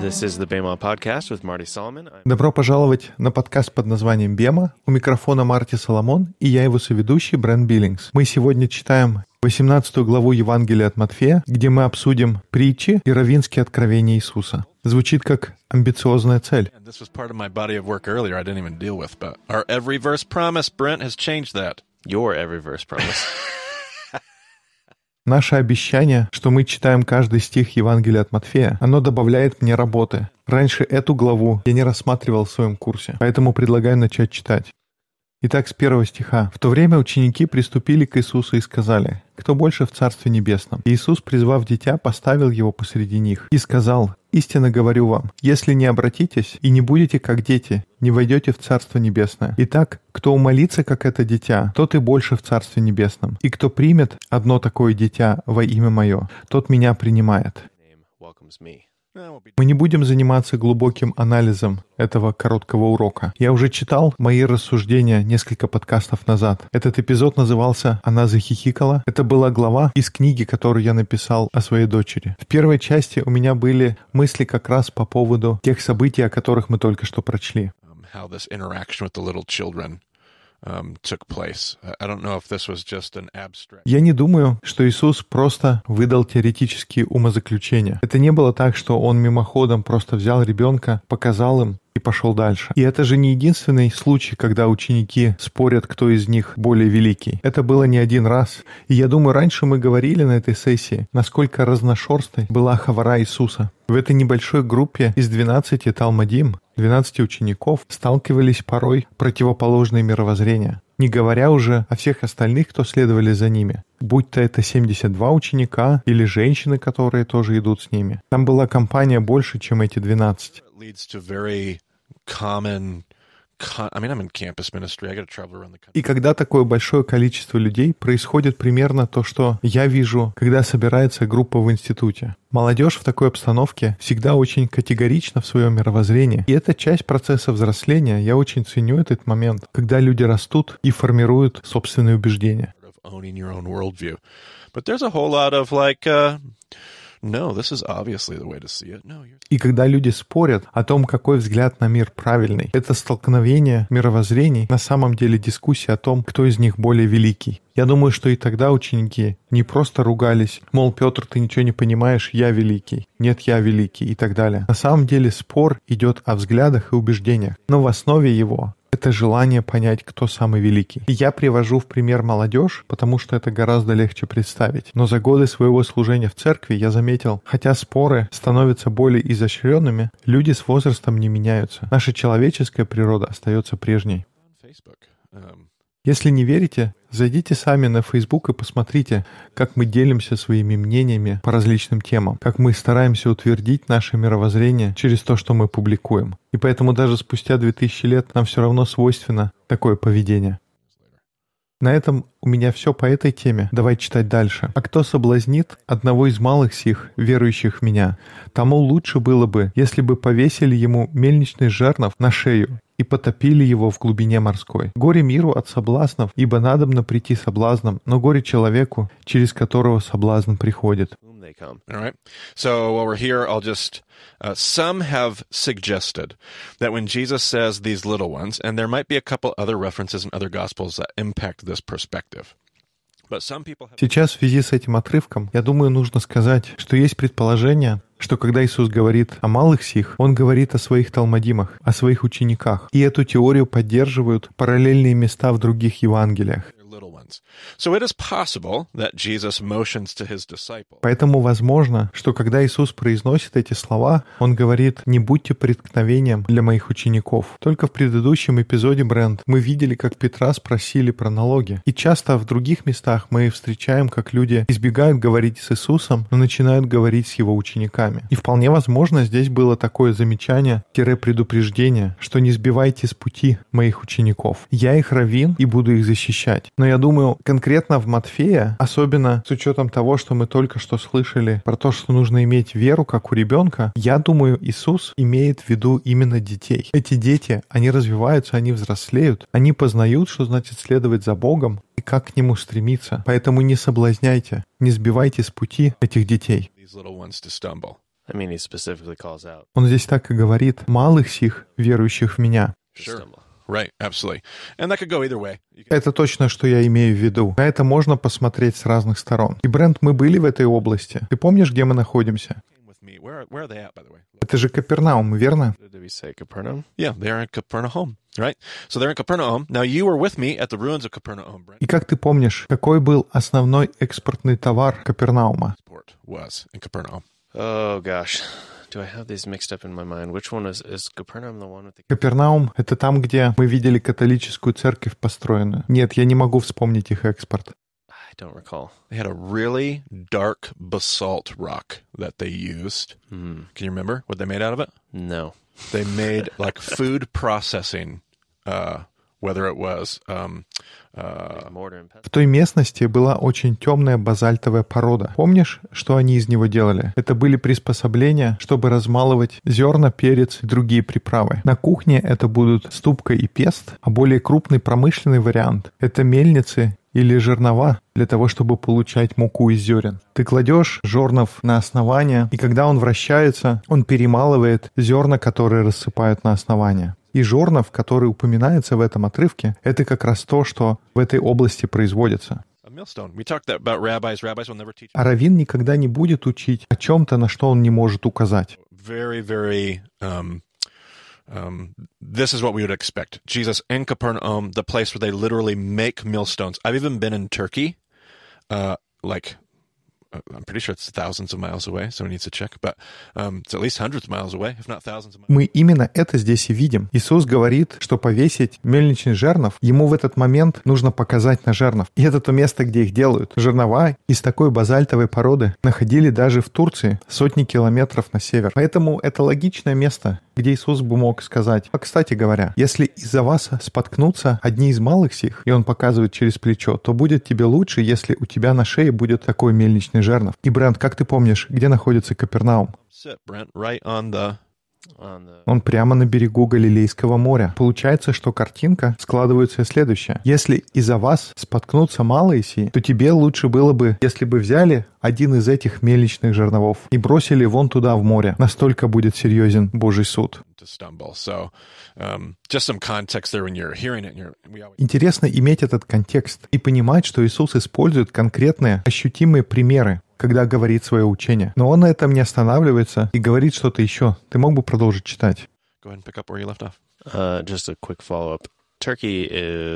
This is the Bema Podcast with Marty Solomon. Добро пожаловать на подкаст под названием «Бема». У микрофона Марти Соломон, и я его соведущий Брент Биллингс. Мы сегодня читаем 18 главу Евангелия от Матфея, где мы обсудим притчи и раввинские откровения Иисуса. Звучит как амбициозная цель. This was part of my body of work earlier I didn't even deal with, but our every verse promise, Brent, has changed that. Your every verse promise. Наше обещание, что мы читаем каждый стих Евангелия от Матфея, оно добавляет мне работы. Раньше эту главу я не рассматривал в своем курсе, поэтому предлагаю начать читать. Итак, с 1 стиха. «В то время ученики приступили к Иисусу и сказали: „Кто больше в Царстве Небесном?“ И Иисус, призвав дитя, поставил его посреди них и сказал: „Истинно говорю вам, если не обратитесь и не будете как дети, не войдете в Царство Небесное. Итак, кто умолится, как это дитя, тот и больше в Царстве Небесном. И кто примет одно такое дитя во имя Мое, тот Меня принимает“». Мы не будем заниматься глубоким анализом этого короткого урока. Я уже читал мои рассуждения несколько подкастов назад. Этот эпизод назывался «Она захихикала». Это была глава из книги, которую я написал о своей дочери. В первой части у меня были мысли как раз по поводу тех событий, о которых мы только что прочли. Я не думаю, что Иисус просто выдал теоретические умозаключения. Это не было так, что Он мимоходом просто взял ребенка, показал им и пошел дальше. И это же не единственный случай, когда ученики спорят, кто из них более великий. Это было не один раз. И я думаю, раньше мы говорили на этой сессии, насколько разношерстной была хавара Иисуса. В этой небольшой группе из 12 талмудим, 12 учеников, сталкивались порой противоположные мировоззрения, не говоря уже о всех остальных, кто следовали за ними. Будь то это 72 ученика или женщины, которые тоже идут с ними. Там была компания больше, чем эти 12. И когда такое большое количество людей, происходит примерно то, что я вижу, когда собирается группа в институте. Молодежь в такой обстановке всегда очень категорична в своем мировоззрении. И это часть процесса взросления. Я очень ценю этот момент, когда люди растут и формируют собственные убеждения. И когда люди спорят о том, какой взгляд на мир правильный, это столкновение мировоззрений, на самом деле дискуссия о том, кто из них более великий. Я думаю, что и тогда ученики не просто ругались, мол, Петр, ты ничего не понимаешь, я великий, нет, я великий и так далее. На самом деле спор идет о взглядах и убеждениях, но в основе его это желание понять, кто самый великий. И я привожу в пример молодежь, потому что это гораздо легче представить. Но за годы своего служения в церкви я заметил, хотя споры становятся более изощренными, люди с возрастом не меняются. Наша человеческая природа остается прежней. Если не верите, зайдите сами на Facebook и посмотрите, как мы делимся своими мнениями по различным темам, как мы стараемся утвердить наше мировоззрение через то, что мы публикуем. И поэтому даже спустя 2000 лет нам все равно свойственно такое поведение. На этом у меня все по этой теме. Давай читать дальше. «А кто соблазнит одного из малых сих, верующих в Меня, тому лучше было бы, если бы повесили ему мельничный жернов на шею и потопили его в глубине морской. Горе миру от соблазнов, ибо надобно прийти соблазном, но горе человеку, через которого соблазн приходит». All right. So while we're here, I'll just, some have suggested that when Jesus says these little ones, and there might be a couple other references in other Gospels that impact this perspective. Сейчас в связи с этим отрывком, я думаю, нужно сказать, что есть предположение, что когда Иисус говорит о малых сих, Он говорит о своих талмудимах, о своих учениках. И эту теорию поддерживают параллельные места в других Евангелиях. Поэтому возможно, что когда Иисус произносит эти слова, Он говорит: «Не будьте преткновением для моих учеников». Только в предыдущем эпизоде, Брент, мы видели, как Петра спросили про налоги. И часто в других местах мы встречаем, как люди избегают говорить с Иисусом, но начинают говорить с Его учениками. И вполне возможно, здесь было такое замечание-предупреждение, что не сбивайте с пути моих учеников. Я их раввин и буду их защищать. Но я думаю, конкретно в Матфея, особенно с учетом того, что мы только что слышали про то, что нужно иметь веру, как у ребенка, я думаю, Иисус имеет в виду именно детей. Эти дети, они развиваются, они взрослеют, они познают, что значит следовать за Богом и как к Нему стремиться. Поэтому не соблазняйте, не сбивайте с пути этих детей. I mean, he specifically calls out Он здесь так и говорит: «Малых сих, верующих в меня». to Sure. stumble. Right, absolutely. And that could go either way. You can- Это точно, что я имею в виду. На это можно посмотреть с разных сторон. И, Брент, мы были в этой области. Ты помнишь, где мы находимся? Came with me. Where are they at, by the way? Это же Капернаум, верно? Did we say Capernaum? Yeah, they are in Capernaum, right? So they're in Capernaum. Now you were with me at the ruins of Capernaum, Brent. И как ты помнишь, какой был основной экспортный товар Капернаума? Port was in Capernaum. Oh, gosh. Do I have these mixed up in my mind? Which one is Capernaum the one with the... Капернаум — это там, где мы видели католическую церковь построенную. Нет, я не могу вспомнить их экспорт. I don't recall. They had a really dark basalt rock that they used. Can you remember what they made out of it? No. They made like food processing, whether it was Mortar and В pestle. той местности была очень темная базальтовая порода. Помнишь, что они из него делали? Это были приспособления, чтобы размалывать зерна, перец и другие приправы. На кухне это будут ступка и пест, а более крупный промышленный вариант — это мельницы или жернова для того, чтобы получать муку из зерен. Ты кладешь жернов на основание, и когда он вращается, он перемалывает зерна, которые рассыпают на основание. И жернов, которые упоминаются в этом отрывке, это как раз то, что в этой области производится. a millstone. We talked about rabbis. Rabbis will never teach. А раввин никогда не будет учить о чем-то, на что он не может указать. Very, very. This is what we would expect. Jesus in Capernaum, the place where they literally make millstones. I've even been in Turkey, I'm pretty sure it's thousands of miles away. Someone needs to check, but it's at least hundreds of miles away, if not thousands of miles. Мы именно это здесь и видим. Иисус говорит, что повесить мельничный жернов, ему в этот момент нужно показать на жернов. И это то место, где их делают. Жернова из такой базальтовой породы находили даже в Турции сотни километров на север. Поэтому это логичное место, где Иисус бы мог сказать: «А, кстати говоря, если из-за вас споткнутся одни из малых сих», и он показывает через плечо, то будет тебе лучше, если у тебя на шее будет такой мельничный жернов. И, Брент, как ты помнишь, где находится Капернаум? Sit, Brent, right on the. Он прямо на берегу Галилейского моря. Получается, что картинка складывается следующая. Если из-за вас споткнутся малые сии, то тебе лучше было бы, если бы взяли один из этих мельничных жерновов и бросили вон туда, в море. Настолько будет серьезен Божий суд. To stumble. So, just some context there when you're hearing it. We always. Интересно иметь этот контекст и понимать, что Иисус использует конкретные, ощутимые примеры, когда говорит свое учение. Но он на этом не останавливается и говорит что-то еще. Ты мог бы продолжить читать? Go ahead and pick up where you left off. Just a quick follow-up. Turkey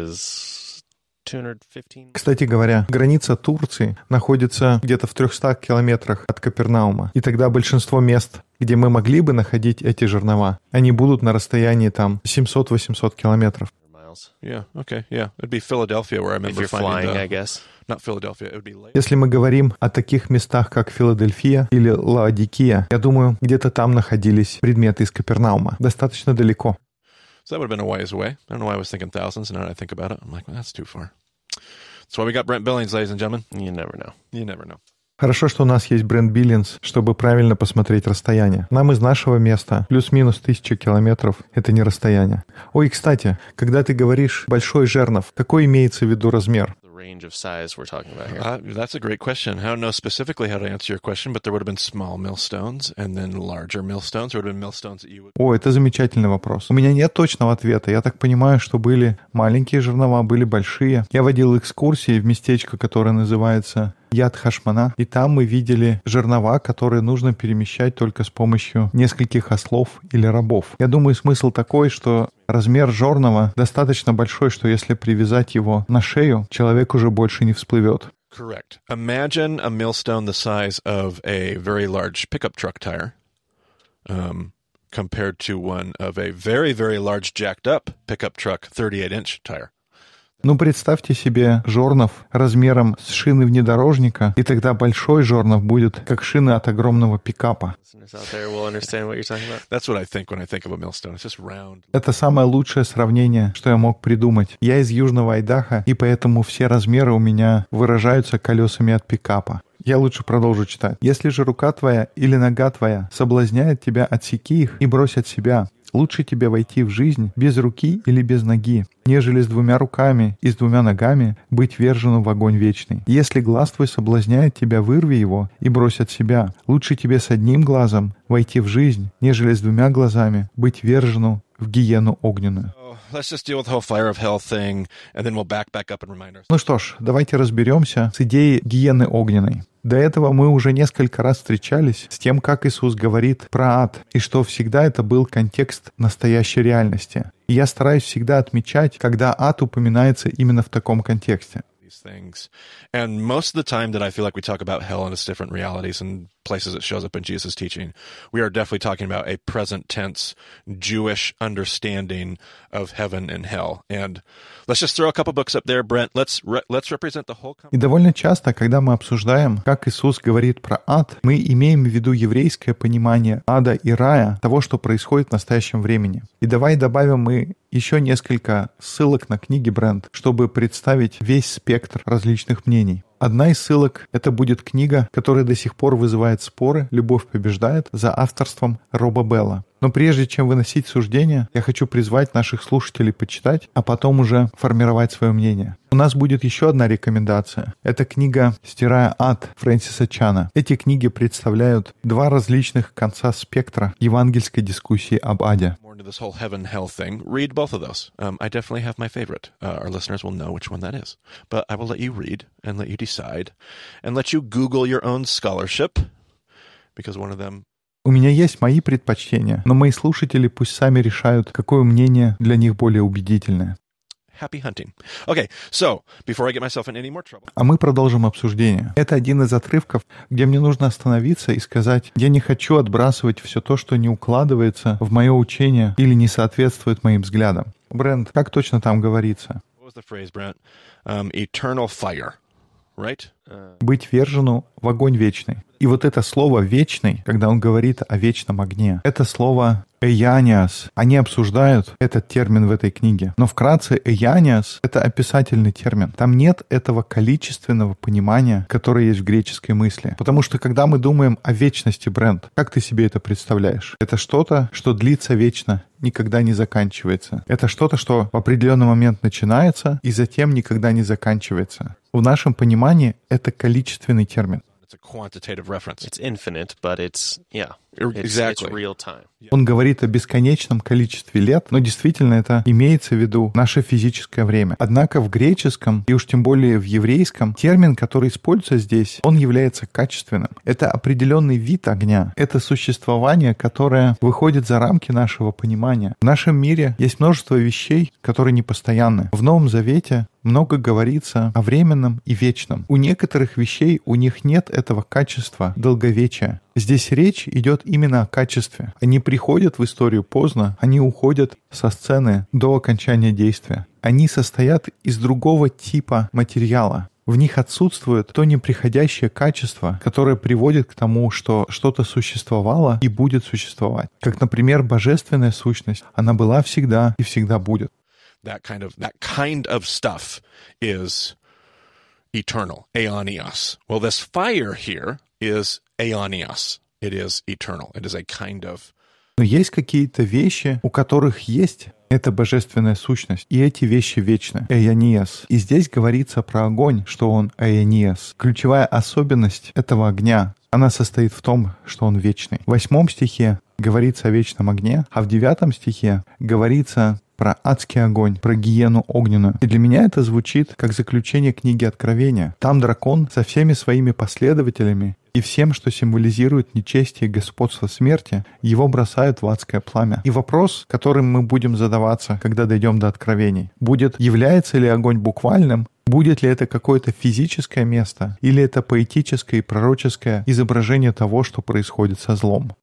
is 215... Кстати говоря, граница Турции находится где-то в 300 километрах от Капернаума. И тогда большинство мест, где мы могли бы находить эти жернова, они будут на расстоянии там 700-800 километров. miles. Yeah. Okay. Yeah. It'd be Philadelphia where I If remember you're finding flying, I the. guess. Not Philadelphia. It would be late. Если мы говорим о таких местах, как Филадельфия или Лаодикия, я думаю, где-то там находились предметы из Капернаума. Достаточно далеко. So that would have been a ways away. I don't know why I was thinking thousands, and now that I think about it, I'm like, well, that's too far. That's why we got Brent Billings, ladies and gentlemen. You never know. You never know. Хорошо, что у нас есть Брент Биллинс, чтобы правильно посмотреть расстояние. Нам из нашего места плюс-минус 1000 километров — это не расстояние. Ой, кстати, когда ты говоришь «большой жернов», какой имеется в виду размер? The range of size we're talking about here. That's a great question. I don't know specifically how to answer your question, but there would have been small millstones and then larger millstones. There would have been millstones that you would. О, это замечательный вопрос. У меня нет точного ответа. Я так понимаю, что были маленькие жернова, были большие. Я водил экскурсии в местечко, которое называется Яд-Хашмана, и там мы видели жернова, которые нужно перемещать только с помощью нескольких ослов или рабов. Я думаю, смысл такой, что размер жернова достаточно большой, что если привязать его на шею, человек уже больше не всплывет. Correct. Imagine a millstone the size of a very large pickup truck tire, compared to one of a very, very large jacked up pickup truck 38-inch tire. Ну, представьте себе жернов размером с шины внедорожника, и тогда большой жернов будет как шины от огромного пикапа. Listeners out there will understand what you're talking about. That's what I think when I think of a millstone. It's just round. Это самое лучшее сравнение, что я мог придумать. Я из Южного Айдахо, и поэтому все размеры у меня выражаются колесами от пикапа. Я лучше продолжу читать. «Если же рука твоя или нога твоя соблазняет тебя, отсеки их и брось от себя. лучше тебе войти в жизнь без руки или без ноги, нежели с 2 руками и с 2 ногами быть вержену в огонь вечный. Если глаз твой соблазняет тебя, вырви его и брось от себя. Лучше тебе с 1 глазом войти в жизнь, нежели с 2 глазами быть вержену в гиену огненную. Ну что ж, давайте разберемся с идеей гиены огненной. До этого мы уже несколько раз встречались с тем, как Иисус говорит про ад, и что всегда это был контекст настоящей реальности. И я стараюсь всегда отмечать, когда ад упоминается именно в таком контексте. Things. And most of the time that I feel like we talk about hell and its different realities and places it shows up in Jesus' teaching, we are definitely talking about a present tense Jewish understanding of heaven and hell. And let's just throw a couple books up there, Brent. Let's represent the whole. И довольно часто, когда мы обсуждаем, как Иисус говорит про ад, мы имеем в виду еврейское понимание ада и рая, того, что происходит в настоящем времени. И давай добавим мы еще несколько ссылок на книги Брент, чтобы представить весь спектр различных мнений. Одна из ссылок — это будет книга, которая до сих пор вызывает споры «Любовь побеждает» за авторством Роба Белла. Но прежде чем выносить суждения, я хочу призвать наших слушателей почитать, а потом уже формировать свое мнение. У нас будет еще одна рекомендация. Это книга «Стирая ад» Фрэнсиса Чана. Эти книги представляют 2 различных конца спектра евангельской дискуссии об аде. This whole heaven-hell thing, read both of those. I definitely have my favorite. Our listeners will know which one that is. But I will let you read and let you decide and let you Google your own scholarship because one of them... У меня есть мои предпочтения, но мои слушатели пусть сами решают, какое мнение для них более убедительное. Happy hunting. Okay, so, before I get myself in any more trouble. А мы продолжим обсуждение. Это один из отрывков, где мне нужно остановиться и сказать, я не хочу отбрасывать все то, что не укладывается в мое учение или не соответствует моим взглядам. Брент, как точно там говорится? What was the phrase, Brent? Eternal fire, right? Быть вержену в огонь вечный. И вот это слово «вечный», когда он говорит о вечном огне, это слово «эяниас». Они обсуждают этот термин в этой книге. Но вкратце «эяниас» — это описательный термин. Там нет этого количественного понимания, которое есть в греческой мысли. Потому что когда мы думаем о вечности, Брент, как ты себе это представляешь? Это что-то, что длится вечно, никогда не заканчивается. Это что-то, что в определенный момент начинается и затем никогда не заканчивается. В нашем понимании это количественный термин. It's a quantitative reference. It's infinite, but it's Exactly. it's real time. Он говорит о бесконечном количестве лет, но действительно это имеется в виду наше физическое время. Однако в греческом, и уж тем более в еврейском, термин, который используется здесь, он является качественным. Это определенный вид огня. Это существование, которое выходит за рамки нашего понимания. В нашем мире есть множество вещей, которые непостоянны. В Новом Завете много говорится о временном и вечном. У некоторых вещей у них нет этого качества долговечия. Здесь речь идет именно о качестве. Они приходят в историю поздно, они уходят со сцены до окончания действия. Они состоят из другого типа материала. В них отсутствует то неприходящее качество, которое приводит к тому, что что-то существовало и будет существовать. Как, например, божественная сущность. Она была всегда и всегда будет. That kind of stuff is eternal, aeonios. Well, this fire here is aeonios. It is eternal. It is a kind of... Но есть какие-то вещи, у которых есть эта божественная сущность, и эти вещи вечны. Эйониас. И здесь говорится про огонь, что он эйониас. Ключевая особенность этого огня, она состоит в том, что он вечный. В 8 стихе говорится о вечном огне, а в 9 стихе говорится про адский огонь, про гиену огненную. И для меня это звучит как заключение книги Откровения. Там дракон со всеми своими последователями и всем, что символизирует нечестие и господство смерти, его бросают в адское пламя. И вопрос, которым мы будем задаваться, когда дойдем до Откровений, будет, является ли огонь буквальным, будет ли это какое-то физическое место, или это поэтическое и пророческое изображение того, что происходит со злом.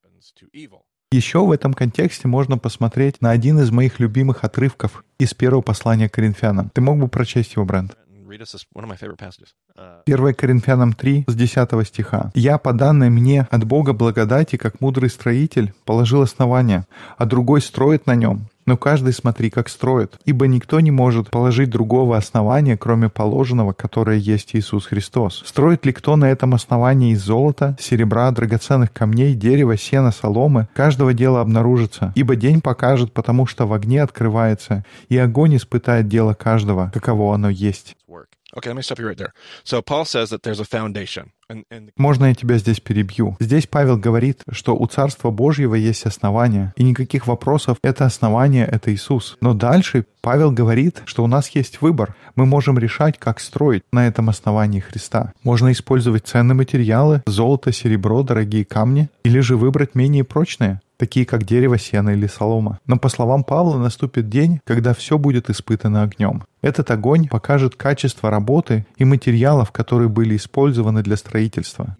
Еще в этом контексте можно посмотреть на один из моих любимых отрывков из первого послания к Коринфянам. Ты мог бы прочесть его, Брент? 1 Коринфянам 3, с 10 стиха. «Я, по данной мне от Бога благодати, как мудрый строитель, положил основание, а другой строит на нем. Но каждый смотри, как строит. Ибо никто не может положить другого основания, кроме положенного, которое есть Иисус Христос. Строит ли кто на этом основании из золота, серебра, драгоценных камней, дерева, сена, соломы? Каждого дела обнаружится. Ибо день покажет, потому что в огне открывается, и огонь испытает дело каждого, каково оно есть. Okay, let me stop you right there. So Paul says that there's a foundation. Можно я тебя здесь перебью? Здесь Павел говорит, что у Царства Божьего есть основание, и никаких вопросов, это основание — это Иисус. Но дальше Павел говорит, что у нас есть выбор. Мы можем решать, как строить на этом основании Христа. Можно использовать ценные материалы, золото, серебро, дорогие камни, или же выбрать менее прочные, такие как дерево, сено или солома. Но по словам Павла, наступит день, когда все будет испытано огнем. Этот огонь покажет качество работы и материалов, которые были использованы для строительства.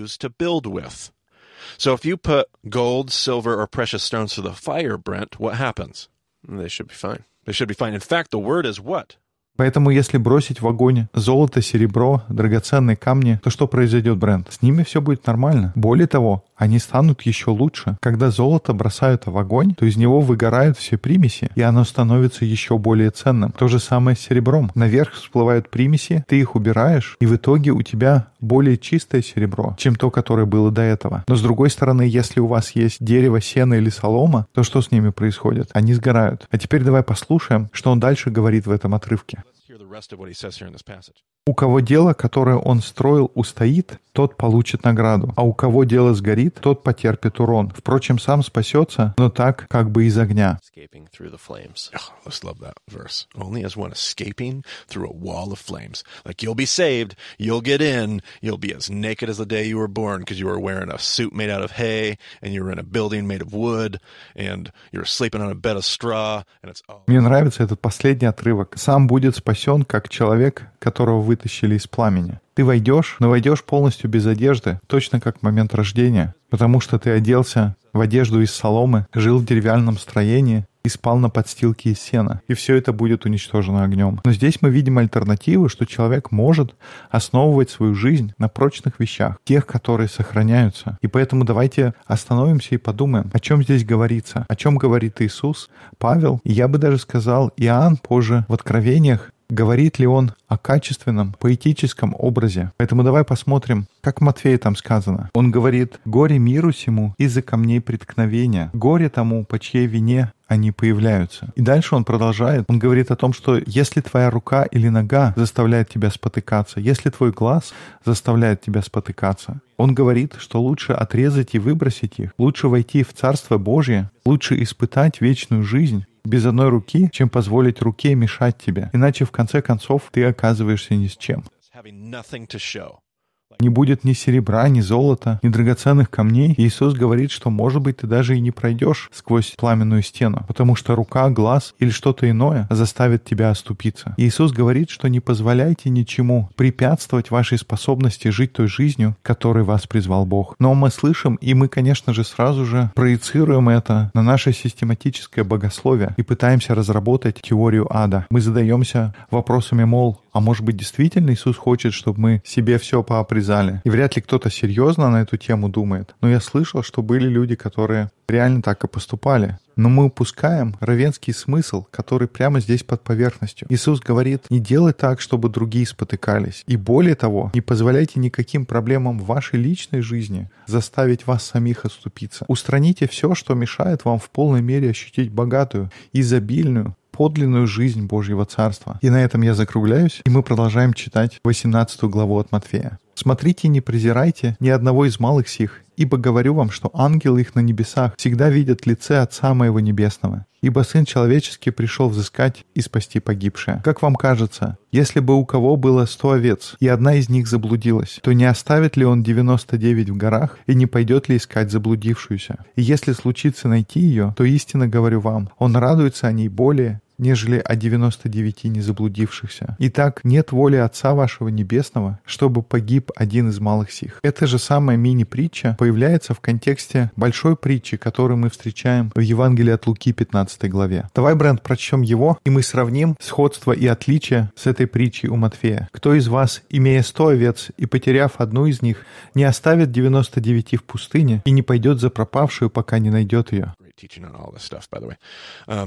So if you put gold, silver, or precious stones to the fire, Brent, what happens? They should be fine. They should be fine. In fact, the word is what? Поэтому если бросить в огонь золото, серебро, драгоценные камни, то что произойдет, Брент? С ними все будет нормально. Более того, они станут еще лучше. Когда золото бросают в огонь, то из него выгорают все примеси, и оно становится еще более ценным. То же самое с серебром. Наверх всплывают примеси, ты их убираешь, и в итоге у тебя более чистое серебро, чем то, которое было до этого. Но с другой стороны, если у вас есть дерево, сено или солома, то что с ними происходит? Они сгорают. А теперь давай послушаем, что он дальше говорит в этом отрывке. У кого дело, которое он строил, устоит, тот получит награду, а у кого дело сгорит, тот потерпит урон. Впрочем, сам спасется, но так, как бы из огня. Let's love that verse. Only as one escaping through a wall of flames. Like you'll be saved, you'll get in, you'll be as naked as the day you were born because you were wearing a suit made out of hay, and you were in a building made of wood, and you're sleeping on a bed of straw, and it's all... Мне нравится этот последний отрывок. Сам будет спасен, как человек, которого вытащили из пламени. Ты войдешь, но войдешь полностью без одежды, точно как в момент рождения, потому что ты оделся в одежду из соломы, жил в деревянном строении и спал на подстилке из сена, и все это будет уничтожено огнем. Но здесь мы видим альтернативу, что человек может основывать свою жизнь на прочных вещах, тех, которые сохраняются. И поэтому давайте остановимся и подумаем, о чем здесь говорится, о чем говорит Иисус, Павел, и я бы даже сказал, Иоанн позже в Откровениях. Говорит ли он о качественном, поэтическом образе? Поэтому давай посмотрим, как в Матфея там сказано. Он говорит: «Горе миру сему из-за камней преткновения, горе тому, по чьей вине они появляются». И дальше он продолжает. Он говорит о том, что если твоя рука или нога заставляет тебя спотыкаться, если твой глаз заставляет тебя спотыкаться, он говорит, что лучше отрезать и выбросить их, лучше войти в Царство Божье, лучше испытать вечную жизнь без одной руки, чем позволить руке мешать тебе. Иначе, в конце концов, ты оказываешься ни с чем. Не будет ни серебра, ни золота, ни драгоценных камней. Иисус говорит, что, может быть, ты даже и не пройдешь сквозь пламенную стену, потому что рука, глаз или что-то иное заставит тебя оступиться. Иисус говорит, что не позволяйте ничему препятствовать вашей способности жить той жизнью, которой вас призвал Бог. Но мы слышим, и мы, конечно же, сразу же проецируем это на наше систематическое богословие и пытаемся разработать теорию ада. Мы задаемся вопросами, мол, а может быть, действительно Иисус хочет, чтобы мы себе все пообрезали? И вряд ли кто-то серьезно на эту тему думает. Но я слышал, что были люди, которые реально так и поступали. Но мы упускаем равенский смысл, который прямо здесь под поверхностью. Иисус говорит: не делай так, чтобы другие спотыкались. И более того, не позволяйте никаким проблемам в вашей личной жизни заставить вас самих отступиться. Устраните все, что мешает вам в полной мере ощутить богатую, изобильную, подлинную жизнь Божьего Царства. И на этом я закругляюсь, и мы продолжаем читать 18 главу от Матфея. «Смотрите, не презирайте ни одного из малых сих, ибо говорю вам, что ангелы их на небесах всегда видят лице Отца Моего Небесного. Ибо Сын Человеческий пришел взыскать и спасти погибшее. Как вам кажется, если бы у кого было 100 овец, и одна из них заблудилась, то не оставит ли он 99 в горах и не пойдет ли искать заблудившуюся? И если случится найти ее, то истинно говорю вам, он радуется о ней более, нежели о 99 незаблудившихся. Итак, нет воли Отца вашего Небесного, чтобы погиб один из малых сих». Эта же самая мини-притча появляется в контексте большой притчи, которую мы встречаем в Евангелии от Луки 15 главе. Давай, Брент, прочтем его, и мы сравним сходство и отличие с этой притчей у Матфея. «Кто из вас, имея 100 овец и потеряв одну из них, не оставит 99 в пустыне и не пойдет за пропавшую, пока не найдет ее?»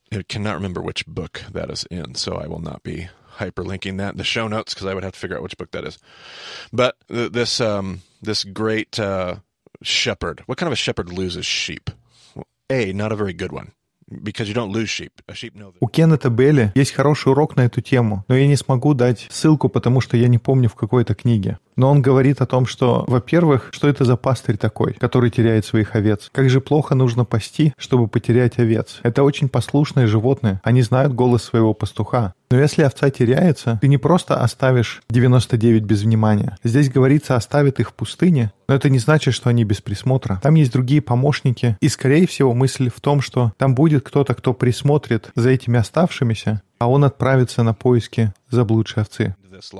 I cannot remember which book that is in, so I will not be hyperlinking that in the show notes because I would have to figure out which book that is. But this great shepherd, what kind of a shepherd loses sheep? Well, not a very good one. Because you don't lose sheep. A sheep knows that. У Кеннета Белли есть хороший урок на эту тему, но я не смогу дать ссылку, потому что я не помню в какой-то книге. Но он говорит о том, что, во-первых, что это за пастырь такой, который теряет своих овец? Как же плохо нужно пасти, чтобы потерять овец? Это очень послушные животные, они знают голос своего пастуха. Но если овца теряется, ты не просто оставишь 99 без внимания. Здесь говорится, оставит их в пустыне, но это не значит, что они без присмотра. Там есть другие помощники, и, скорее всего, мысль в том, что там будет кто-то, кто присмотрит за этими оставшимися, а он отправится на поиски заблудшей овцы.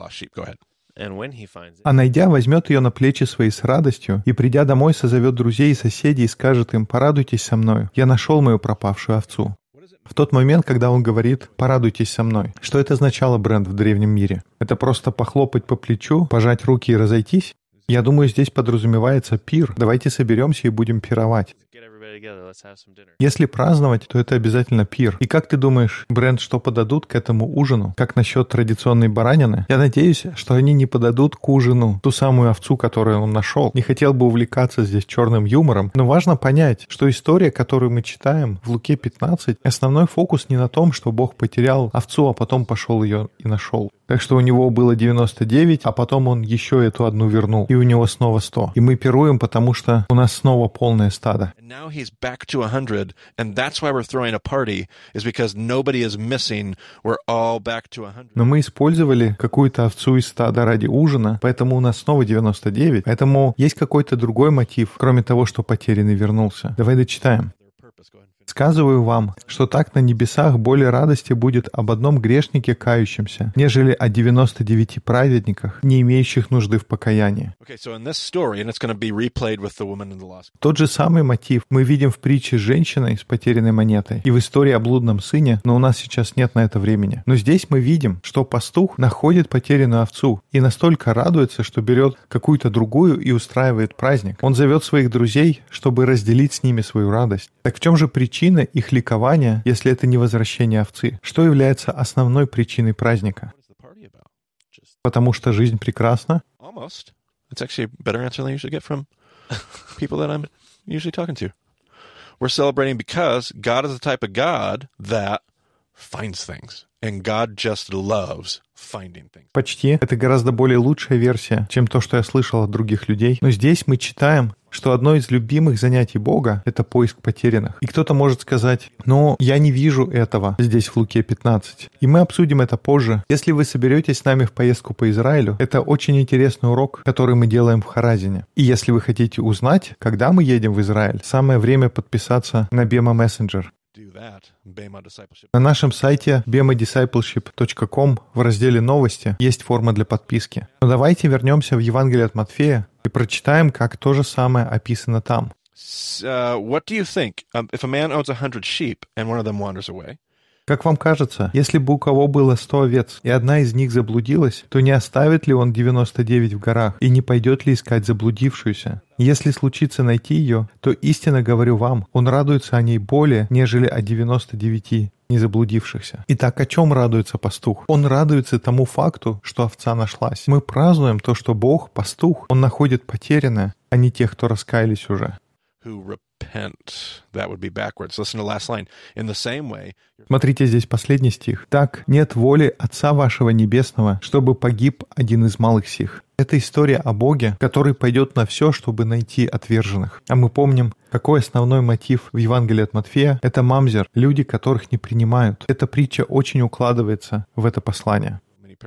А найдя, возьмет ее на плечи свои с радостью, и, придя домой, созовет друзей и соседей и скажет им: «Порадуйтесь со мною, я нашел мою пропавшую овцу». В тот момент, когда он говорит «порадуйтесь со мной», что это означало, Брент, в древнем мире? Это просто похлопать по плечу, пожать руки и разойтись? Я думаю, здесь подразумевается пир. Давайте соберемся и будем пировать. Если праздновать, то это обязательно пир. И как ты думаешь, Брент, что подадут к этому ужину? Как насчет традиционной баранины? Я надеюсь, что они не подадут к ужину ту самую овцу, которую он нашел. Не хотел бы увлекаться здесь черным юмором, но важно понять, что история, которую мы читаем в Луке 15, основной фокус не на том, что Бог потерял овцу, а потом пошел ее и нашел. Так что у него было 99, а потом он еще эту одну вернул, и у него снова 100. И мы пируем, потому что у нас снова полное стадо. Back to 100, and that's why we're throwing a party, is because nobody is missing. We're all back to 100. Но мы использовали какую-то овцу из стада ради ужина, поэтому у нас снова 99. Поэтому есть какой-то другой мотив, кроме того, что потерянный вернулся. Давай дочитаем. «Сказываю вам, что так на небесах более радости будет об одном грешнике кающемся, нежели о 99 праведниках, не имеющих нужды в покаянии». Тот же самый мотив мы видим в притче с женщиной с потерянной монетой и в истории о блудном сыне, но у нас сейчас нет на это времени. Но здесь мы видим, что пастух находит потерянную овцу и настолько радуется, что берет какую-то другую и устраивает праздник. Он зовет своих друзей, чтобы разделить с ними свою радость. Так в чем же причина их ликования, если это не возвращение овцы? Что является основной причиной праздника? Потому что жизнь прекрасна? It's actually a better answer than I usually get from people that I'm usually talking to. We're celebrating because God is the type of God that finds things. And God just loves finding things. Почти. Это гораздо более лучшая версия, чем то, что я слышал от других людей. Но здесь мы читаем, что одно из любимых занятий Бога — это поиск потерянных. И кто-то может сказать: «Но я не вижу этого здесь в Луке 15». И мы обсудим это позже. Если вы соберетесь с нами в поездку по Израилю, это очень интересный урок, который мы делаем в Харазине. И если вы хотите узнать, когда мы едем в Израиль, самое время подписаться на Bema Messenger. На нашем сайте bemadiscipleship.com в разделе «Новости» есть форма для подписки. Но давайте вернемся в Евангелие от Матфея и прочитаем, как то же самое описано там. What do you think? If a man owns 100 sheep and one of them wanders away? Как вам кажется, если бы у кого было 100 овец, и одна из них заблудилась, то не оставит ли он 99 в горах, и не пойдет ли искать заблудившуюся? Если случится найти ее, то истинно говорю вам, он радуется о ней более, нежели о 99 незаблудившихся. Итак, о чем радуется пастух? Он радуется тому факту, что овца нашлась. Мы празднуем то, что Бог, пастух, он находит потерянное, а не тех, кто раскаялись уже. Смотрите, здесь последний стих. «Так нет воли Отца вашего Небесного, чтобы погиб один из малых сих». Это история о Боге, который пойдет на все, чтобы найти отверженных. А мы помним, какой основной мотив в Евангелии от Матфея — это мамзер, люди, которых не принимают. Эта притча очень укладывается в это послание.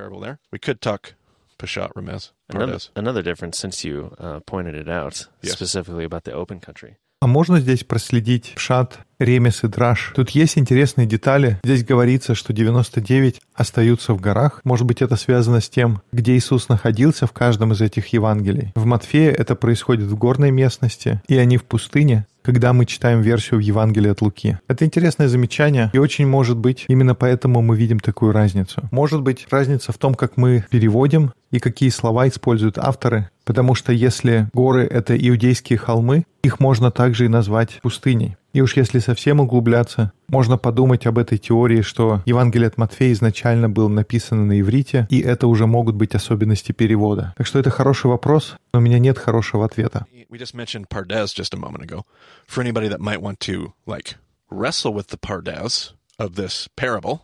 Another difference, since you pointed it out, specifically about the open country. А можно здесь проследить пшат, ремес и драш? Тут есть интересные детали. Здесь говорится, что 99 остаются в горах. Может быть, это связано с тем, где Иисус находился в каждом из этих Евангелий. В Матфея это происходит в горной местности, и они в пустыне, когда мы читаем версию в Евангелии от Луки. Это интересное замечание, и очень может быть, именно поэтому мы видим такую разницу. Может быть, разница в том, как мы переводим и какие слова используют авторы, потому что если горы — это иудейские холмы, их можно также и назвать пустыней. И уж если совсем углубляться, можно подумать об этой теории, что Евангелие от Матфея изначально было написано на иврите, и это уже могут быть особенности перевода. Так что это хороший вопрос, но у меня нет хорошего ответа. We just mentioned Pardes just a moment ago. For anybody that might want to, wrestle with the Pardes of this parable,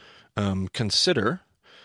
consider...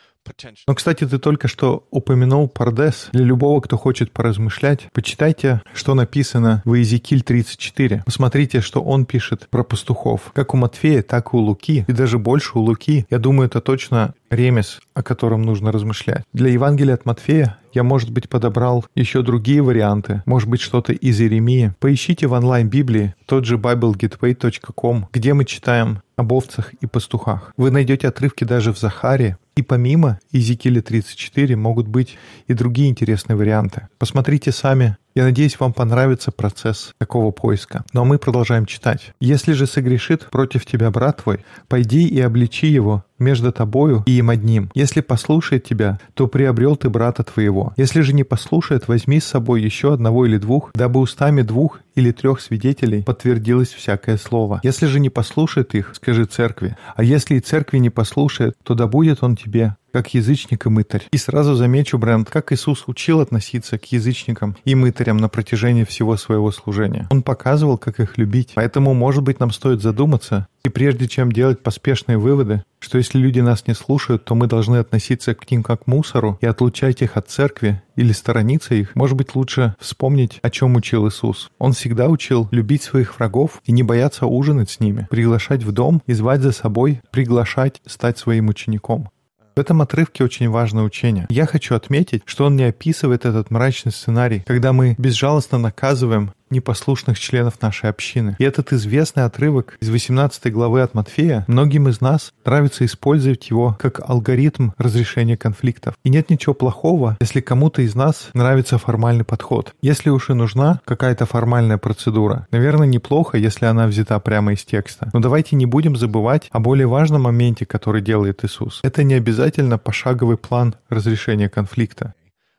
Но, кстати, ты только что упомянул Пардес. Для любого, кто хочет поразмышлять, почитайте, что написано в Иезекииль 34. Посмотрите, что он пишет про пастухов. Как у Матфея, так и у Луки. И даже больше у Луки. Я думаю, это точно ремес, о котором нужно размышлять. Для Евангелия от Матфея я, может быть, подобрал еще другие варианты. Может быть, что-то из Иеремии. Поищите в онлайн-библии тот же BibleGateway.com, где мы читаем об овцах и пастухах. Вы найдете отрывки даже в Захаре. И помимо Иезекииля 34 могут быть и другие интересные варианты. Посмотрите сами. Я надеюсь, вам понравится процесс такого поиска. Ну а мы продолжаем читать. «Если же согрешит против тебя брат твой, пойди и обличи его между тобою и им одним. Если послушает тебя, то приобрел ты брата твоего. Если же не послушает, возьми с собой еще одного или двух, дабы устами 2 или 3 свидетелей подтвердилось всякое слово. Если же не послушает их, скажи церкви. А если и церкви не послушает, то да будет он тебе, как язычник и мытарь». И сразу замечу, Брент, как Иисус учил относиться к язычникам и мытарям на протяжении всего своего служения. Он показывал, как их любить. Поэтому, может быть, нам стоит задуматься, и прежде чем делать поспешные выводы, что если люди нас не слушают, то мы должны относиться к ним как к мусору и отлучать их от церкви или сторониться их, может быть, лучше вспомнить, о чем учил Иисус. Он всегда учил любить своих врагов и не бояться ужинать с ними, приглашать в дом и звать за собой, приглашать стать своим учеником. В этом отрывке очень важное учение. Я хочу отметить, что он не описывает этот мрачный сценарий, когда мы безжалостно наказываем непослушных членов нашей общины. И этот известный отрывок из 18 главы от Матфея, многим из нас нравится использовать его как алгоритм разрешения конфликтов. И нет ничего плохого, если кому-то из нас нравится формальный подход. Если уж и нужна какая-то формальная процедура, наверное, неплохо, если она взята прямо из текста. Но давайте не будем забывать о более важном моменте, который делает Иисус. Это не обязательно пошаговый план разрешения конфликта.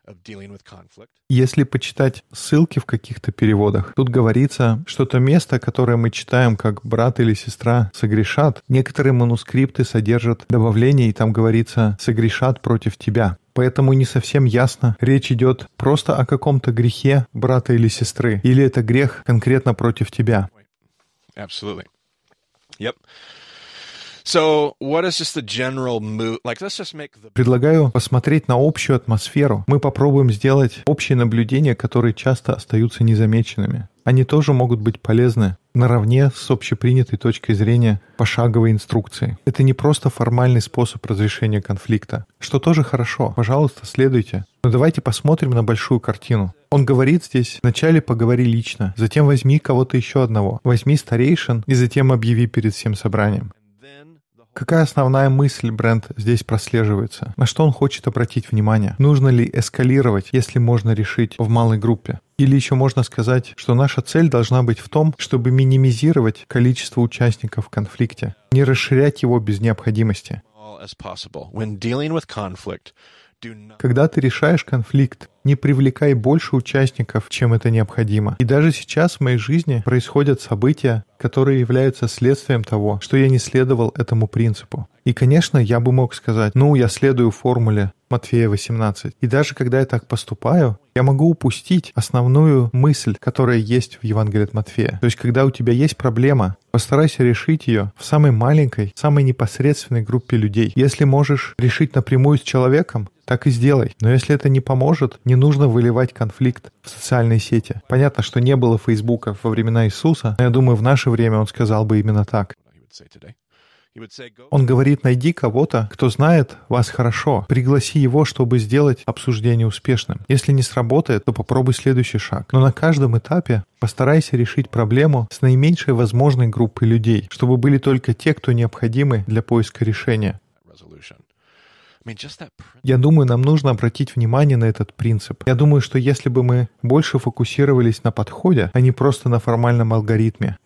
Если почитать ссылки в каких-то переводах, тут говорится, что то место, которое мы читаем как брат или сестра согрешат, некоторые манускрипты содержат добавление, и там говорится «согрешат против тебя». Поэтому не совсем ясно, речь идет просто о каком-то грехе брата или сестры, или это грех конкретно против тебя. Absolutely. Yep. So, what is just the general mood? Let's just make the... Предлагаю посмотреть на общую атмосферу. Мы попробуем сделать общие наблюдения, которые часто остаются незамеченными. Они тоже могут быть полезны наравне с общепринятой точкой зрения пошаговой инструкции. Это не просто формальный способ разрешения конфликта, что тоже хорошо. Пожалуйста, следуйте. Но давайте посмотрим на большую картину. Он говорит здесь: вначале поговори лично, затем возьми кого-то еще одного, возьми старейшин и затем объяви перед всем собранием. Какая основная мысль, Брент, здесь прослеживается? На что он хочет обратить внимание? Нужно ли эскалировать, если можно решить в малой группе? Или еще можно сказать, что наша цель должна быть в том, чтобы минимизировать количество участников в конфликте, не расширять его без необходимости. Когда ты решаешь конфликт, не привлекай больше участников, чем это необходимо. И даже сейчас в моей жизни происходят события, которые являются следствием того, что я не следовал этому принципу. И, конечно, я бы мог сказать: я следую формуле Матфея 18. И даже когда я так поступаю, я могу упустить основную мысль, которая есть в Евангелии от Матфея. То есть, когда у тебя есть проблема, постарайся решить ее в самой маленькой, самой непосредственной группе людей. Если можешь решить напрямую с человеком, так и сделай. Но если это не поможет, не нужно выливать конфликт в социальные сети. Понятно, что не было Фейсбука во времена Иисуса, но я думаю, в наше время он сказал бы именно так. Он говорит: найди кого-то, кто знает вас хорошо, пригласи его, чтобы сделать обсуждение успешным. Если не сработает, то попробуй следующий шаг. Но на каждом этапе постарайся решить проблему с наименьшей возможной группой людей, чтобы были только те, кто необходимы для поиска решения. Я думаю, нам нужно обратить внимание на этот принцип. Я думаю, что если бы мы больше фокусировались на подходе, а не просто на формальном алгоритме,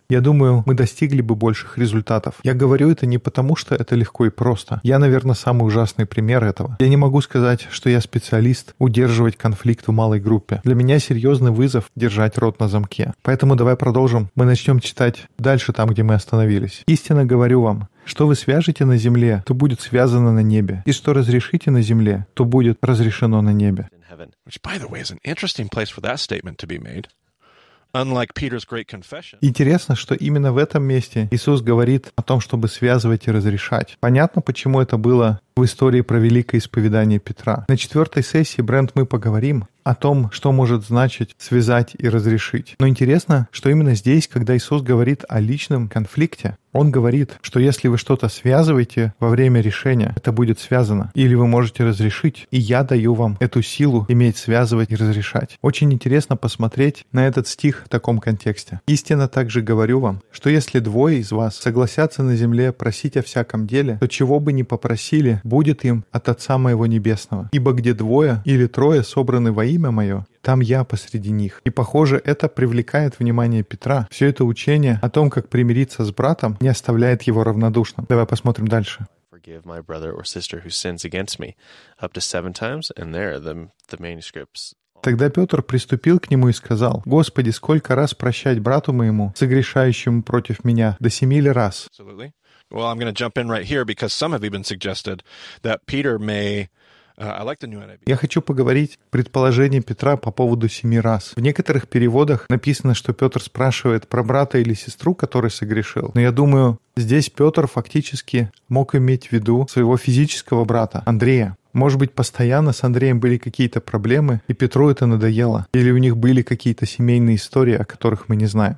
я думаю, мы достигли бы больших результатов. Я говорю это не потому, что это легко и просто. Я, наверное, самый ужасный пример этого. Я не могу сказать, что я специалист удерживать конфликт в малой группе. Для меня серьезный вызов держать рот на замке. Поэтому давай продолжим. Мы начнем читать дальше там, где мы остановились. «Истинно говорю вам, что вы свяжете на земле, то будет связано на небе, и что разрешите на земле, то будет разрешено на небе». Which, by the way, is an interesting place for that statement to be made. Unlike Peter's great confession. Интересно, что именно в этом месте Иисус говорит о том, чтобы связывать и разрешать. Понятно, почему это было в истории про великое исповедание Петра. На 4-й сессии, Брент, мы поговорим о том, что может значить связать и разрешить. Но интересно, что именно здесь, когда Иисус говорит о личном конфликте, Он говорит, что если вы что-то связываете во время решения, это будет связано. Или вы можете разрешить, и я даю вам эту силу иметь связывать и разрешать. Очень интересно посмотреть на этот стих в таком контексте. «Истинно также говорю вам, что если двое из вас согласятся на земле просить о всяком деле, то чего бы ни попросили, будет им от Отца Моего Небесного. Ибо где двое или трое собраны во имя Мое, там я посреди них». И, похоже, это привлекает внимание Петра. Все это учение о том, как примириться с братом, не оставляет его равнодушным. Давай посмотрим дальше. Forgive my brother or sister who sins against me up to 7 times, and there the manuscripts. Тогда Петр приступил к нему и сказал: «Господи, сколько раз прощать брату моему, согрешающему против меня? До 7 ли раз?» Absolutely. Well, I'm going to jump in right here because some have even suggested that Peter may. I like the new NIV. Я хочу поговорить о предположении Петра по поводу 7 раз. В некоторых переводах написано, что Петр спрашивает про брата или сестру, который согрешил. Но я думаю, здесь Петр фактически мог иметь в виду своего физического брата, Андрея. Может быть, постоянно с Андреем были какие-то проблемы, и Петру это надоело. Или у них были какие-то семейные истории, о которых мы не знаем.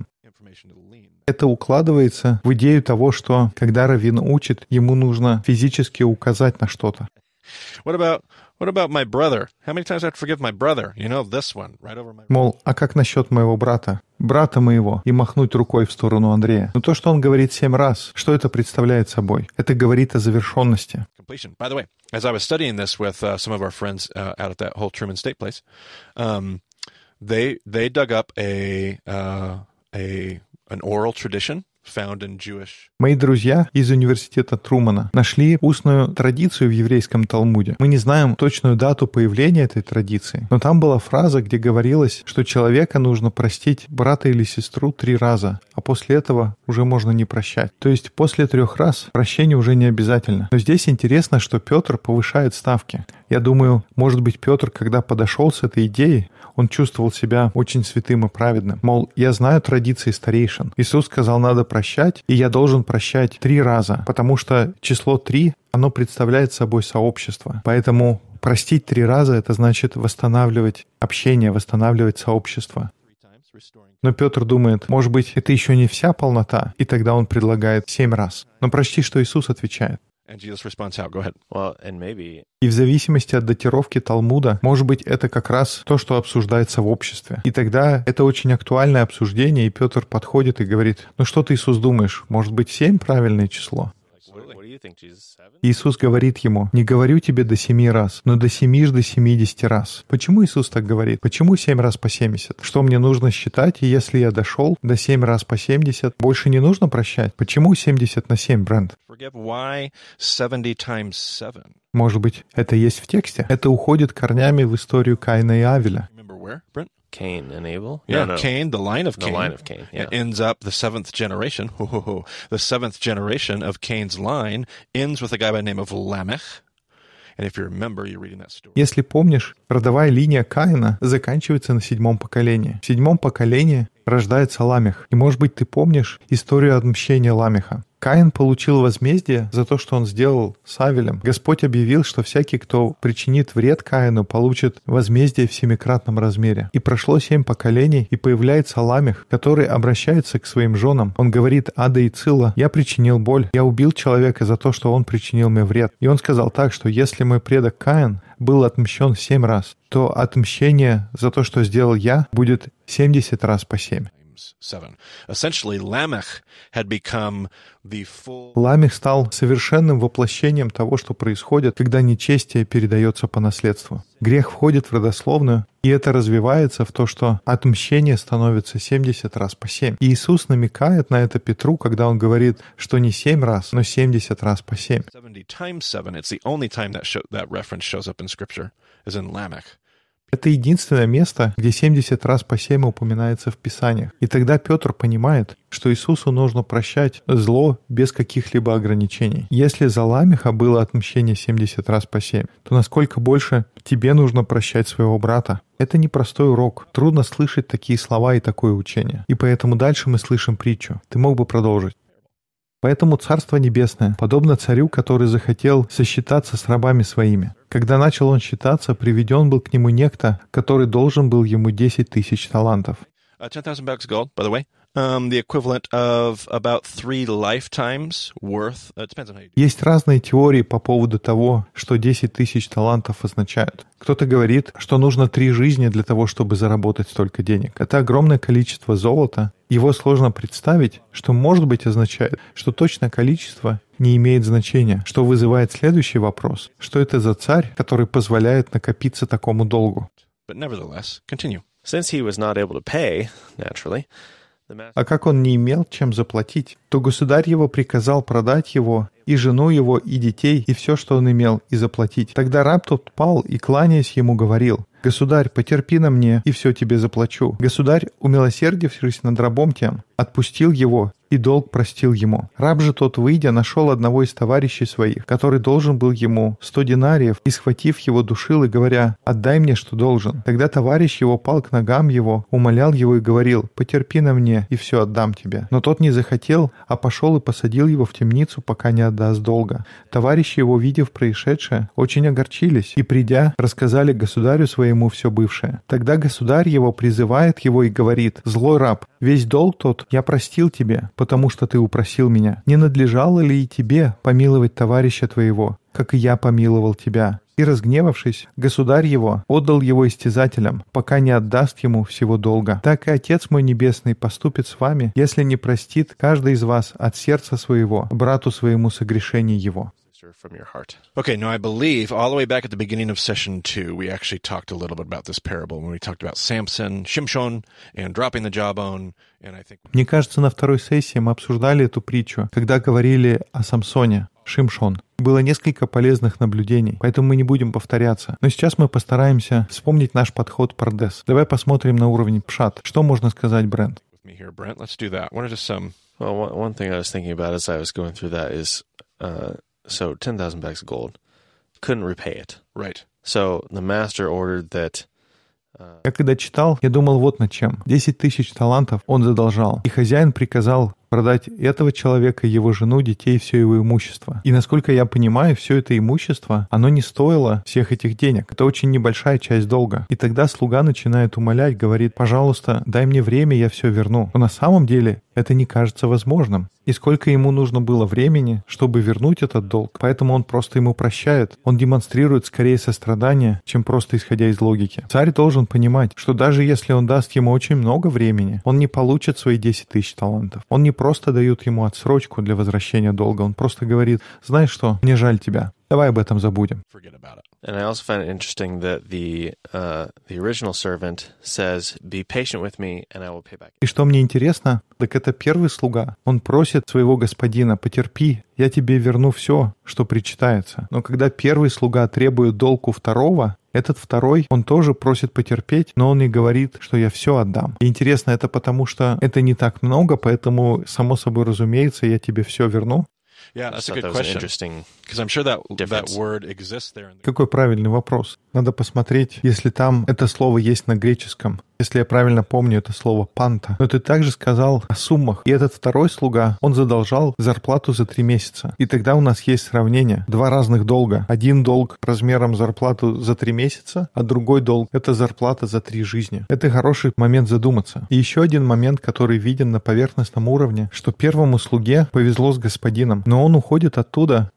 Это укладывается в идею того, что когда раввин учит, ему нужно физически указать на что-то. What about my brother? How many times I have to forgive my brother? You know, this one, right over my. Мол, а как насчет моего брата моего, и махнуть рукой в сторону Андрея? Но то, что он говорит 7 раз, что это представляет собой? Это говорит о завершенности. Completion. By the way, as I was studying this with some of our friends out at that whole Truman State place, they dug up an oral tradition found in Jewish. Мои друзья из университета Трумана нашли устную традицию в еврейском Талмуде. Мы не знаем точную дату появления этой традиции, но там была фраза, где говорилось, что человека нужно простить брата или сестру 3 раза, а после этого уже можно не прощать. То есть после 3 раз прощение уже не обязательно. Но здесь интересно, что Петр повышает ставки. Я думаю, может быть, Петр, когда подошел с этой идеей, он чувствовал себя очень святым и праведным. Мол, я знаю традиции старейшин. Иисус сказал, надо прощать, и я должен прощать 3 раза, потому что число 3, оно представляет собой сообщество. Поэтому простить 3 раза — это значит восстанавливать общение, восстанавливать сообщество. Но Петр думает, может быть, это еще не вся полнота, и тогда он предлагает 7 раз. Но почти что Иисус отвечает. И в зависимости от датировки Талмуда, может быть, это как раз то, что обсуждается в обществе. И тогда это очень актуальное обсуждение, и Петр подходит и говорит, ну что ты, Иисус, думаешь, может быть, 7 правильное число? Иисус говорит ему, не говорю тебе до 7 раз, но до 7 до 70 раз. Почему Иисус так говорит? Почему 7 раз по 70? Что мне нужно считать, и если я дошел до 7 раз по 70, больше не нужно прощать? Почему 70 на 7, Брент? Может быть, это есть в тексте? Это уходит корнями в историю Каина и Авеля. Cain and Abel? Yeah, no. Cain, the line of Cain. The line of Cain, yeah. It ends up the 7th generation. The 7th generation of Cain's line ends with a guy by the name of Lamech. And if you remember, you're reading that story. Если помнишь, родовая линия Каина заканчивается на 7-м поколении. В 7-м поколении рождается Ламех. И, может быть, ты помнишь историю отмщения Ламеха. Каин получил возмездие за то, что он сделал с Авелем. Господь объявил, что всякий, кто причинит вред Каину, получит возмездие в 7-кратном размере. И прошло 7 поколений, и появляется Ламех, который обращается к своим женам. Он говорит: «Ада и Цила, я причинил боль, я убил человека за то, что он причинил мне вред». И он сказал так, что если мой предок Каин был отмщен 7 раз, то отмщение за то, что сделал я, будет 70 раз по 7. Ламех стал совершенным воплощением того, что происходит, когда нечестие передается по наследству. Грех входит в родословную, и это развивается в то, что отмщение становится 70 раз по 7. И Иисус намекает на это Петру, когда он говорит, что не 7 раз, но 70 раз по 7. 70 times 7, it's the only time that reference shows up in Scripture, is in Lamech. Это единственное место, где 70 раз по 7 упоминается в Писаниях. И тогда Петр понимает, что Иисусу нужно прощать зло без каких-либо ограничений. Если за Ламеха было отмщение 70 раз по 7, то насколько больше тебе нужно прощать своего брата? Это непростой урок. Трудно слышать такие слова и такое учение. И поэтому дальше мы слышим притчу. Ты мог бы продолжить. Поэтому Царство Небесное подобно царю, который захотел сосчитаться с рабами своими. Когда начал он считаться, приведен был к нему некто, который должен был ему 10 тысяч талантов. 10,000 bucks gold, by the way. The equivalent of about 3 lifetimes worth. Depends on how you do it. Есть разные теории по поводу того, что 10 тысяч талантов означают. Кто-то говорит, что нужно 3 жизни для того, чтобы заработать столько денег. Это огромное количество золота. Его сложно представить, что, может быть, означает, что точное количество не имеет значения, что вызывает следующий вопрос. Что это за царь, который позволяет накопиться такому долгу? But nevertheless, continue. Since he was not able to pay, naturally, А как он не имел чем заплатить, то государь его приказал продать его, и жену его, и детей, и все, что он имел, и заплатить. Тогда раб тот пал и, кланяясь ему, говорил: «Государь, потерпи на мне, и все тебе заплачу». Государь, умилосердившись над рабом тем, отпустил его, и долг простил ему. Раб же тот, выйдя, нашел одного из товарищей своих, который должен был ему 100 динариев, и, схватив его, душил и говоря: «Отдай мне, что должен». Тогда товарищ его пал к ногам его, умолял его и говорил: «Потерпи на мне, и все отдам тебе». Но тот не захотел, а пошел и посадил его в темницу, пока не отдаст долга. Товарищи его, видев происшедшее, очень огорчились, и, придя, рассказали государю своему все бывшее. Тогда государь его призывает его и говорит: «Злой раб, весь долг тот я простил тебе, потому что ты упросил меня. Не надлежало ли и тебе помиловать товарища твоего, как и я помиловал тебя?» И, разгневавшись, государь его отдал его истязателям, пока не отдаст ему всего долга. Так и Отец мой Небесный поступит с вами, если не простит каждый из вас от сердца своего брату своему согрешение его. From your heart. Okay, now I believe all the way back at the beginning of session 2, we actually talked a little bit about this parable when we talked about Samson, Shimshon, and dropping the jawbone. And I think... Мне кажется, на второй сессии мы обсуждали эту притчу, когда говорили о Самсоне, Шимшон. Было несколько полезных наблюдений, поэтому мы не будем повторяться. Но сейчас мы постараемся вспомнить наш подход Пардес. Давай посмотрим на уровень пшат. Что можно сказать, Брент? Brent, let's do that. What are just some... Well, one thing I was thinking about as I was going through that is... So 10,000 bags of gold, couldn't repay it. Right. So the master ordered that... Я когда читал, я думал вот над чем. 10 тысяч талантов он задолжал, и хозяин приказал продать этого человека, его жену, детей, все его имущество. И насколько я понимаю, все это имущество, оно не стоило всех этих денег. Это очень небольшая часть долга. И тогда слуга начинает умолять, говорит: «Пожалуйста, дай мне время, я все верну». Но на самом деле это не кажется возможным. И сколько ему нужно было времени, чтобы вернуть этот долг. Поэтому он просто ему прощает. Он демонстрирует скорее сострадание, чем просто исходя из логики. Царь должен понимать, что даже если он даст ему очень много времени, он не получит свои 10 тысяч талантов. Он не просто дает ему отсрочку для возвращения долга. Он просто говорит: «Знаешь что, мне жаль тебя. Давай об этом забудем». And I also find it interesting that the original servant says, "Be patient with me, and I will pay back." И что мне интересно, так это первый слуга. Он просит своего господина: «Потерпи, я тебе верну все, что причитается». Но когда первый слуга требует долг у второго, этот второй, он тоже просит потерпеть, но он и говорит, что я все отдам. И интересно, это потому что это не так много, поэтому, само собой разумеется, я тебе все верну. Yeah, that's a good question. Because I'm sure that word exists there. Какой правильный вопрос. Надо посмотреть, если там это слово есть на греческом. Если я правильно помню, это слово «панта». Но ты также сказал о суммах. И этот второй слуга, он задолжал зарплату за 3 месяца. И тогда у нас есть сравнение. 2 разных долга. Один долг размером зарплату за 3 месяца, а другой долг — это зарплата за 3 жизни. Это хороший момент задуматься. И еще один момент, который виден на поверхностном уровне, что первому слуге повезло с господином, но он уходит оттуда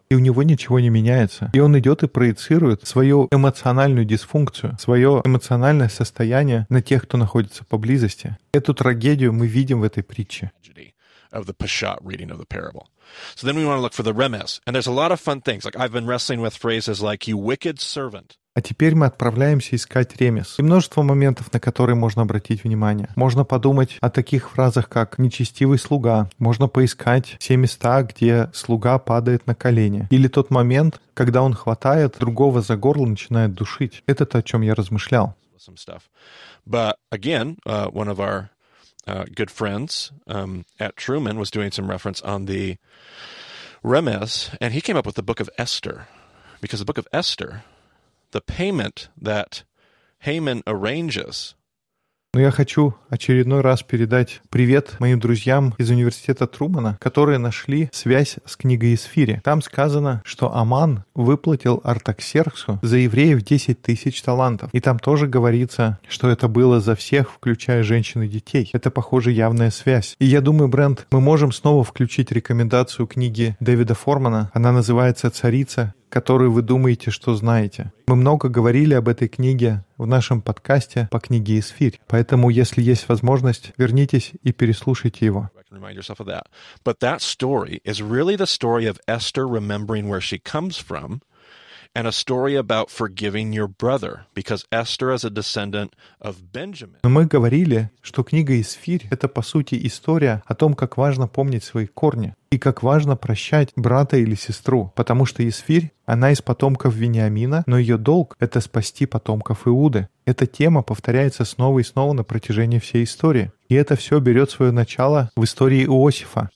и у него ничего не меняется. И он идет и проецирует свою эмоциональную дисфункцию, свое эмоциональное состояние на тех, кто находится поблизости. Эту трагедию мы видим в этой притче. Of the Peshat reading of the parable. So then we want to look for the remes. And there's a lot of fun things. Like I've been wrestling with phrases like, you wicked servant. А теперь мы отправляемся искать ремес. И множество моментов, на которые можно обратить внимание. Можно подумать о таких фразах, как «нечестивый слуга». Можно поискать все места, где слуга падает на колени. Или тот момент, когда он хватает другого за горло и начинает душить. Это то, о чем я размышлял. But again, one of our good friends at Truman was doing some reference on the remes, and he came up with the book of Esther. Because the book of Esther, the payment that Haman arranges. Но я хочу очередной раз передать привет моим друзьям из университета Трумана, которые нашли связь с книгой Исфири. Там сказано, что Аман выплатил Артаксерксу за евреев 10 тысяч талантов. И там тоже говорится, что это было за всех, включая женщин и детей. Это, похоже, явная связь. И я думаю, Брент, мы можем снова включить рекомендацию книги Дэвида Формана. Она называется «Царица, которую вы думаете, что знаете». Мы много говорили об этой книге в нашем подкасте по книге Исфирь. Поэтому, если есть возможность, вернитесь и переслушайте его. But that story is really the story of Esther remembering where she comes from, and a story about forgiving your brother, because Esther is a descendant of Benjamin. Но мы говорили, что книга Исфирь — это, по сути, история о том, как важно помнить свои корни и как важно прощать брата или сестру, потому что Исфирь, она из потомков Вениамина, но ее долг — это спасти потомков Иуды. Эта тема повторяется снова и снова на протяжении всей истории. И это все берет свое начало в истории Иосифа.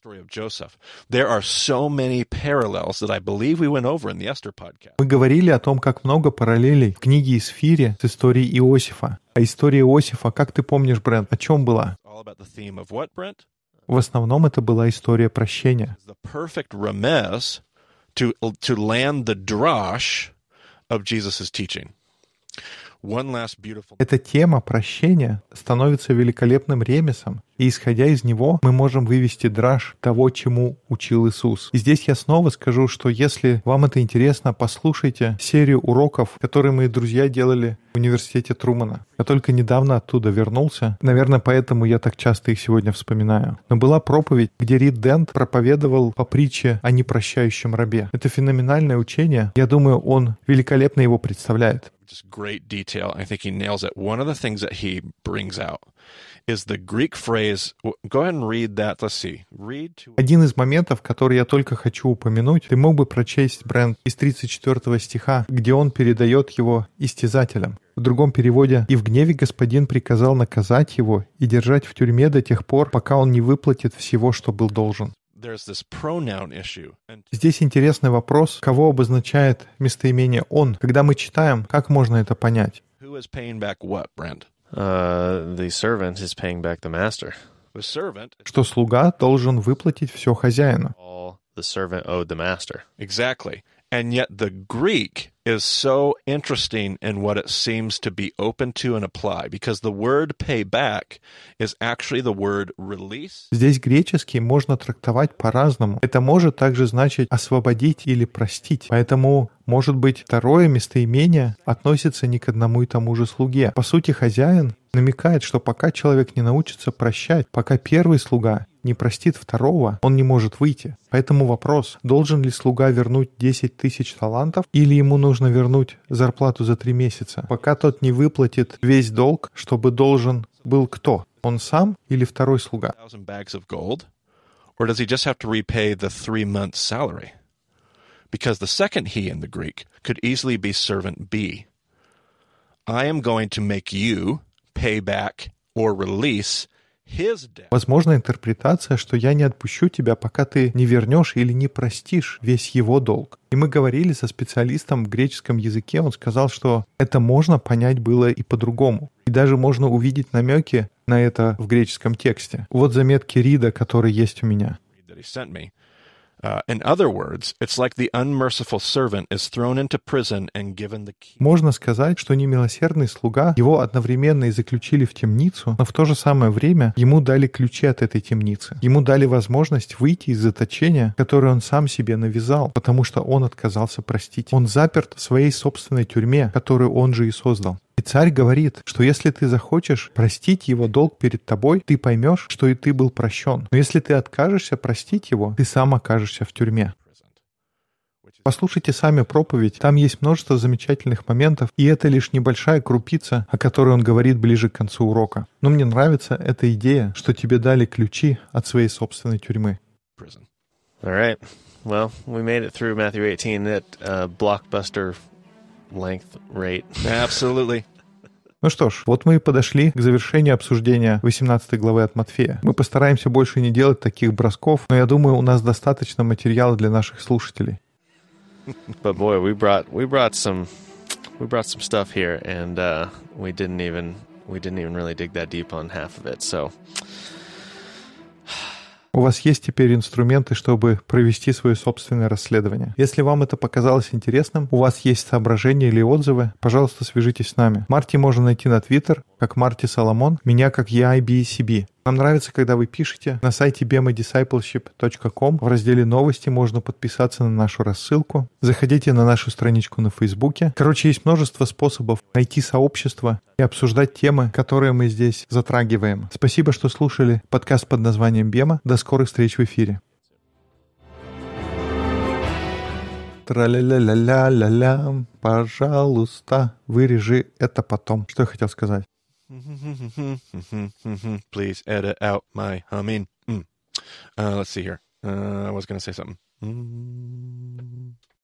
Мы говорили о том, как много параллелей в книге Исфири с историей Иосифа. А история Иосифа, как ты помнишь, Брент, о чем была? В основном это была история прощения. Эта тема прощения становится великолепным ремесом, и, исходя из него, мы можем вывести драж того, чему учил Иисус. И здесь я снова скажу, что если вам это интересно, послушайте серию уроков, которые мои друзья делали в университете Трумана. Я только недавно оттуда вернулся, наверное, поэтому я так часто их сегодня вспоминаю. Но была проповедь, где Рид Дент проповедовал по притче о непрощающем рабе. Это феноменальное учение. Я думаю, он великолепно его представляет. Just great detail. I think he nails it. One of the things that he brings out is the Greek phrase. Go ahead and read that. Let's see. Read to... Один из моментов, который я только хочу упомянуть, ты мог бы прочесть, Брент, из 34 стиха, где он передает его истязателям. В другом переводе: «И в гневе господин приказал наказать его и держать в тюрьме до тех пор, пока он не выплатит всего, что был должен». Здесь интересный вопрос, кого обозначает местоимение «он». Когда мы читаем, как можно это понять? The servant is paying back the master. Что слуга должен выплатить все хозяину. All the servant owed the master. Exactly. And yet the Greek is so interesting in what it seems to be open to and apply, because the word pay back is actually the word release. Здесь греческий можно трактовать по-разному. Это может также значить освободить или простить. Поэтому, может быть, второе местоимение относится не к одному и тому же слуге. По сути, хозяин намекает, что пока человек не научится прощать, пока первый слуга не простит второго, он не может выйти. Поэтому вопрос, должен ли слуга вернуть 10 тысяч талантов, или ему нужно вернуть зарплату за 3 месяца, пока тот не выплатит весь долг, чтобы должен был кто? Он сам или второй слуга? Or does he just have to repay the 3 months' salary? Because the second he in the Greek could easily be servant B. I am going to make you pay back or release his debt. Возможно, интерпретация, что я не отпущу тебя, пока ты не вернешь или не простишь весь его долг. И мы говорили со специалистом в греческом языке, он сказал, что это можно понять было и по-другому. И даже можно увидеть намеки на это в греческом тексте. Вот заметки Рида, которые есть у меня. In other words, it's like the unmerciful servant is thrown into prison and given the key. Можно сказать, что немилосердный слуга, его одновременно и заключили в темницу, но в то же самое время ему дали ключи от этой темницы. Ему дали возможность выйти из заточения, которое он сам себе навязал, потому что он отказался простить. Он заперт в своей собственной тюрьме, которую он же и создал. И царь говорит, что если ты захочешь простить его долг перед тобой, ты поймешь, что и ты был прощен. Но если ты откажешься простить его, ты сам окажешься в тюрьме. Послушайте сами проповедь, там есть множество замечательных моментов, и это лишь небольшая крупица, о которой он говорит ближе к концу урока. Но мне нравится эта идея, что тебе дали ключи от своей собственной тюрьмы. All right. Well, we made it through Matthew 18 at blockbuster length rate. Absolutely. Ну что ж, вот мы и подошли к завершению обсуждения 18 главы от Матфея. Мы постараемся больше не делать таких бросков, но я думаю, у нас достаточно материала для наших слушателей. But boy, we brought some stuff here, and we didn't even really dig that deep on half of it. So У вас есть теперь инструменты, чтобы провести свое собственное расследование. Если вам это показалось интересным, у вас есть соображения или отзывы, пожалуйста, свяжитесь с нами. Марти можно найти на Twitter, как Марти Соломон, меня как EIBCB. Нам нравится, когда вы пишете. На сайте bemadiscipleship.com в разделе «Новости» можно подписаться на нашу рассылку. Заходите на нашу страничку на Фейсбуке. Короче, есть множество способов найти сообщество и обсуждать темы, которые мы здесь затрагиваем. Спасибо, что слушали подкаст под названием «Бема». До скорых встреч в эфире. Тра-ля-ля-ля-ля-ля-ля, пожалуйста, вырежи это потом. Что я хотел сказать? Please edit out my humming. Let's see here. I was going to say something.